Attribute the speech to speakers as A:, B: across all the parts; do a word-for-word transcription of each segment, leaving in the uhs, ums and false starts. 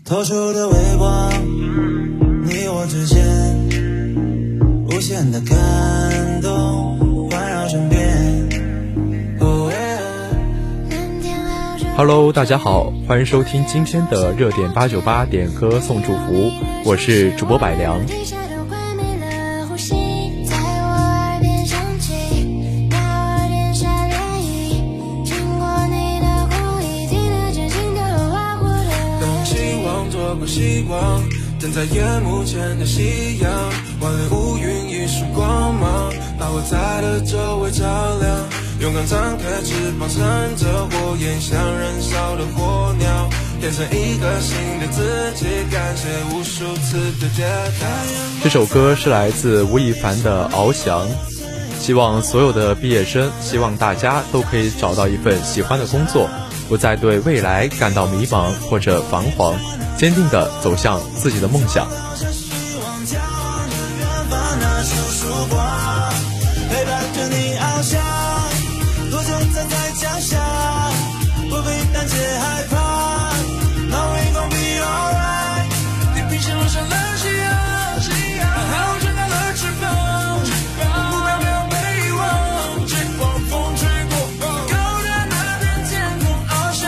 A: 透出的微光，你我之间无限的感动环绕身边。oh
B: Hello， 大家好，欢迎收听今天的热点八九八点歌送祝福，我是主播百良。
A: 希望等在夜幕前的夕阳，万里乌云一束光芒，把我在的周围照亮。勇敢张开翅膀，乘着火焰，像燃烧的火鸟，变成一个新的自己，感谢无数次的跌倒。
B: 这首歌是来自吴亦凡的《翱翔》，希望所有的毕业生，希望大家都可以找到一份喜欢的工作，不再对未来感到迷茫或者彷徨，坚定地走向自己的梦想。
A: 陪伴着你翱翔，多久站在脚下，不必胆怯害怕，那微光 be alright。 地平线落下了夕阳，夕阳好张开了翅膀，目标没有被遗忘，疾风风吹过，高的那片天空翱翔。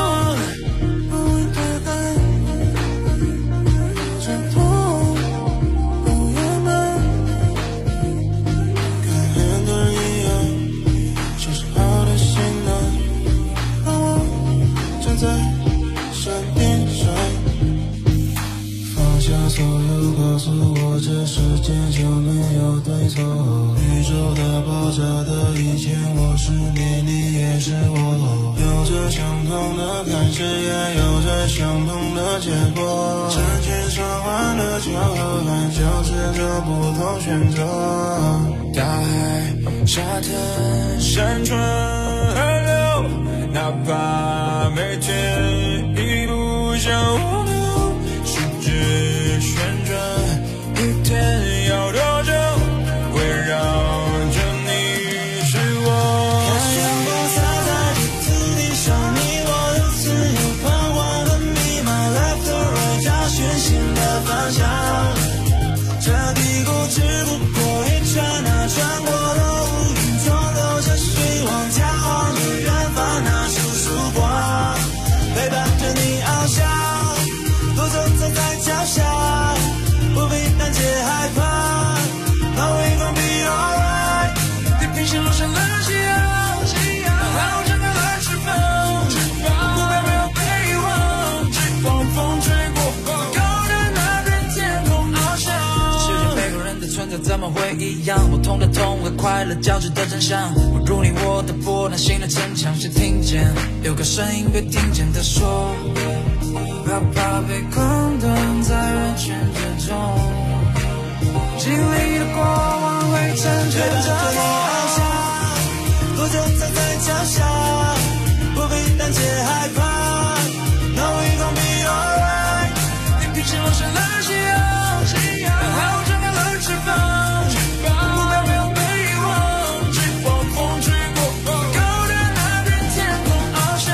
A: 所有告诉我这世界就没有对错，宇宙的爆炸的一切，我是你，你也是我，有着相同的开始，也有着相同的结果，成千上万的巧合，还交织着不同选择。大海沙滩山川河流，哪怕每天一路向我流，世界旋转，一天要多久？围绕着你是我。看阳光洒在这土地上，你我的自由彷徨的密码 ，left or right， 找寻新的方向。这低谷只不过一刹那，穿过了乌云，总有着希望，眺望着远方那束曙光，陪伴着你翱翔，多走走在脚下，不必胆怯害怕，那微光 be alright。 地平线落下了夕阳，夕阳好张开了翅膀，目标没有被遗忘，疾风风吹过，高的那片天空翱翔。世界每个人的存在怎么会一样？不同的痛和快乐交织的真相，不如你我的波澜心的城墙，谁听见有个声音被听见的说，不要怕被空洞在人群之中，经历的过往会成全着我翱翔，多久站在脚下，不必胆怯害怕，那微光 be alright。 地平线落下了夕阳，夕阳好张开了翅膀，目标没有被遗忘，疾风风吹过，高的那片天空翱翔。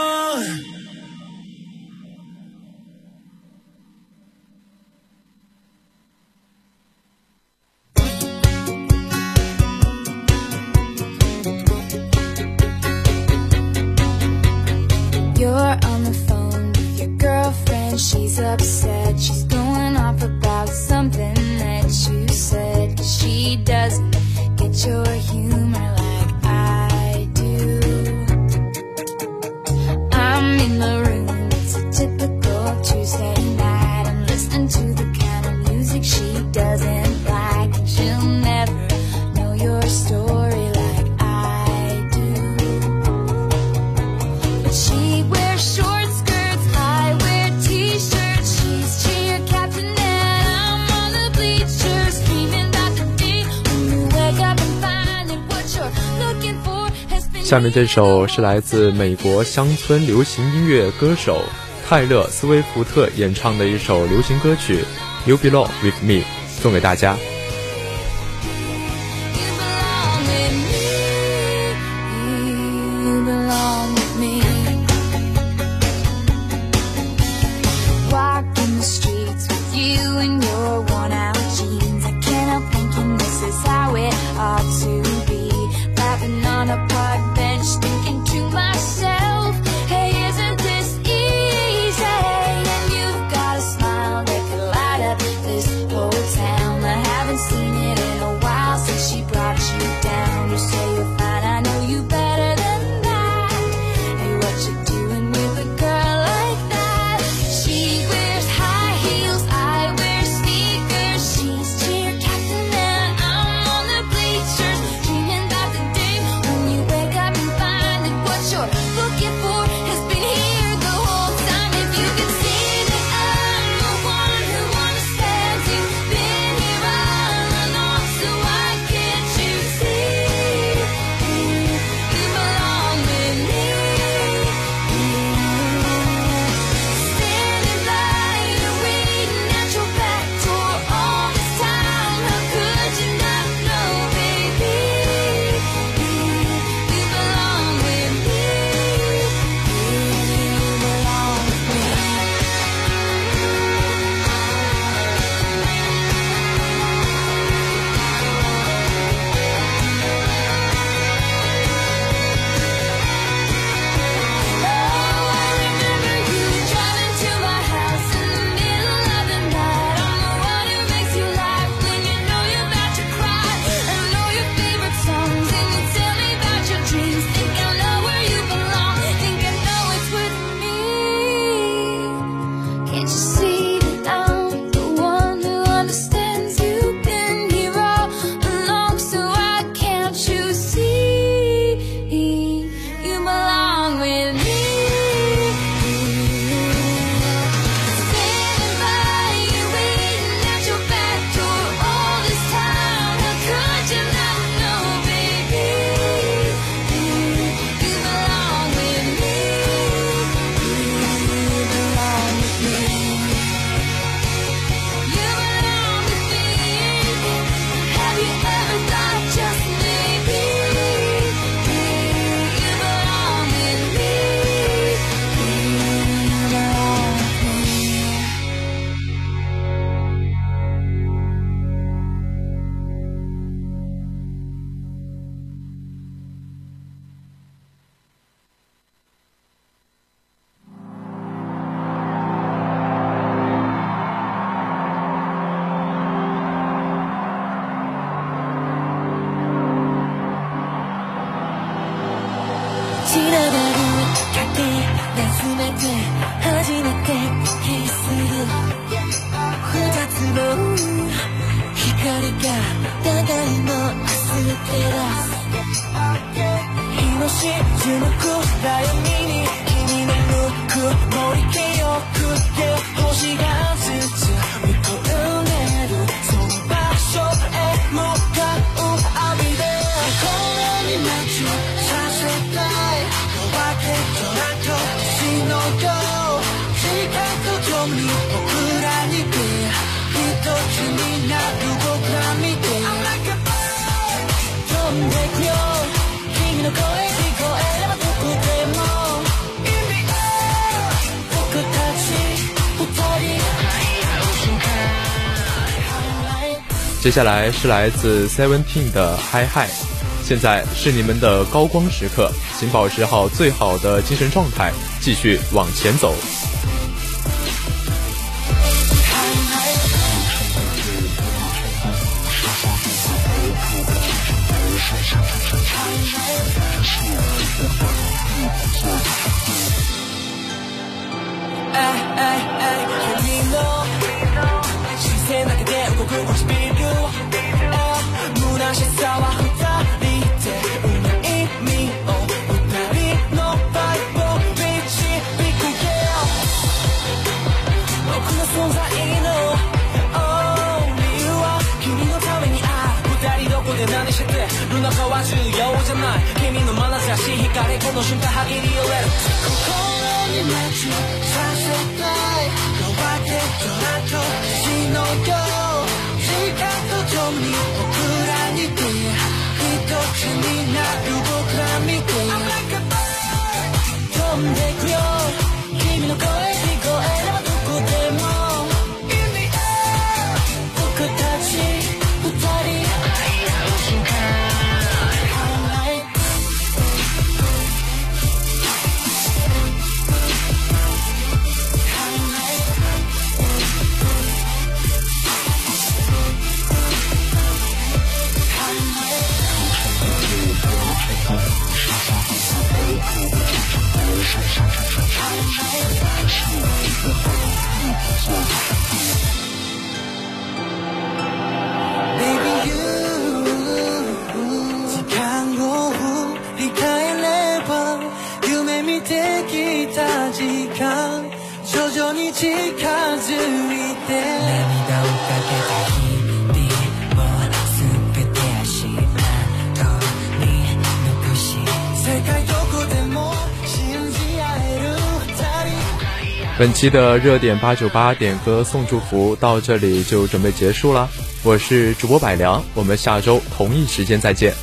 C: You're on the phone with your girlfriend, she's upset, she's going off about something that you said, 'cause she doesn't get your humor like I do. I'm in the room, it's a typical Tuesday night, I'm listening to the kind of music she doesn't like, and she'll never know your story like I do. But she wears short skirts, I wear t-shirts, she's cheer captain and I'm on the bleachers, screaming about the day when you wake up and find that what you're looking for has been.
B: 下面这首是来自美国乡村流行音乐歌手泰勒·斯威夫特演唱的一首流行歌曲 You Belong With Me， 送给大家。
C: Why 詰めて初めて気する二つの光が互いの明日照らす日の沈む暗闇に君の向く森気よく星がずつ見込んでるその場所へ向かう旅で心にマッチさせたい夜明けとなと星のよう時間とともに僕らに出一つになる僕ら見て飛んでくよ君の声聞こえればどこでも In the air 僕たち二人
B: 接下来是来自 Seventeen 的 Hi Hi， 现在是你们的高光时刻，请保持好最好的精神状态，继续往前走。
C: 中は重要じゃない君の眼差し光この瞬間歯切り寄れる心にマッチさせたい夜明けとなと星のよう時間とともに僕らに出一つになる僕ら見て飛んでくよ君の声聞こえればどこでも In the air 僕たち二人徐々に近づいて涙をかけた日々を全て足跡に残し世界どこでも信じ合える二人。
B: 本期的热点八九八点歌送祝福到这里就准备结束了，我是主播百良，我们下周同一时间再见。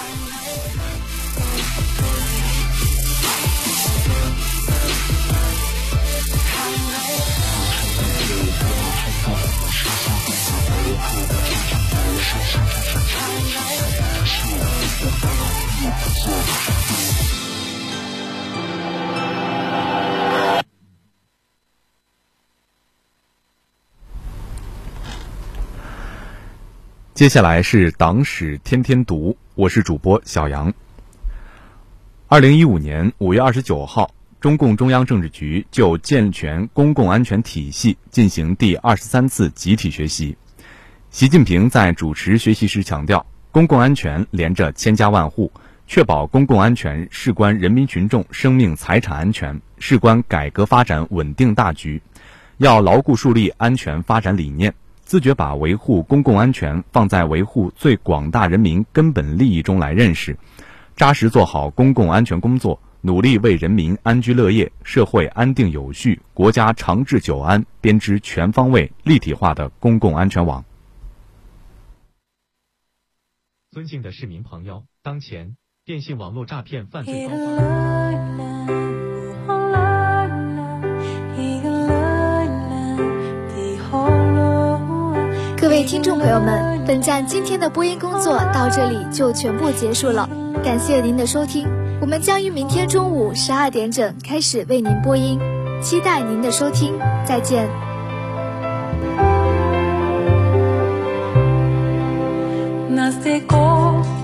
D: 接下来是党史天天读，我是主播小杨。二零一五年五月二十九号，中共中央政治局就健全公共安全体系进行第二十三次集体学习。习近平在主持学习时强调，公共安全连着千家万户，确保公共安全事关人民群众生命财产安全，事关改革发展稳定大局，要牢固树立安全发展理念，自觉把维护公共安全放在维护最广大人民根本利益中来认识，扎实做好公共安全工作，努力为人民安居乐业、社会安定有序、国家长治久安编织全方位、立体化的公共安全网。
B: 尊敬的市民朋友，当前电信网络诈骗犯罪高发。
E: 各位听众朋友们，本站今天的播音工作到这里就全部结束了，感谢您的收听，我们将于明天中午十二点整开始为您播音，期待您的收听，再见。
C: なぜこう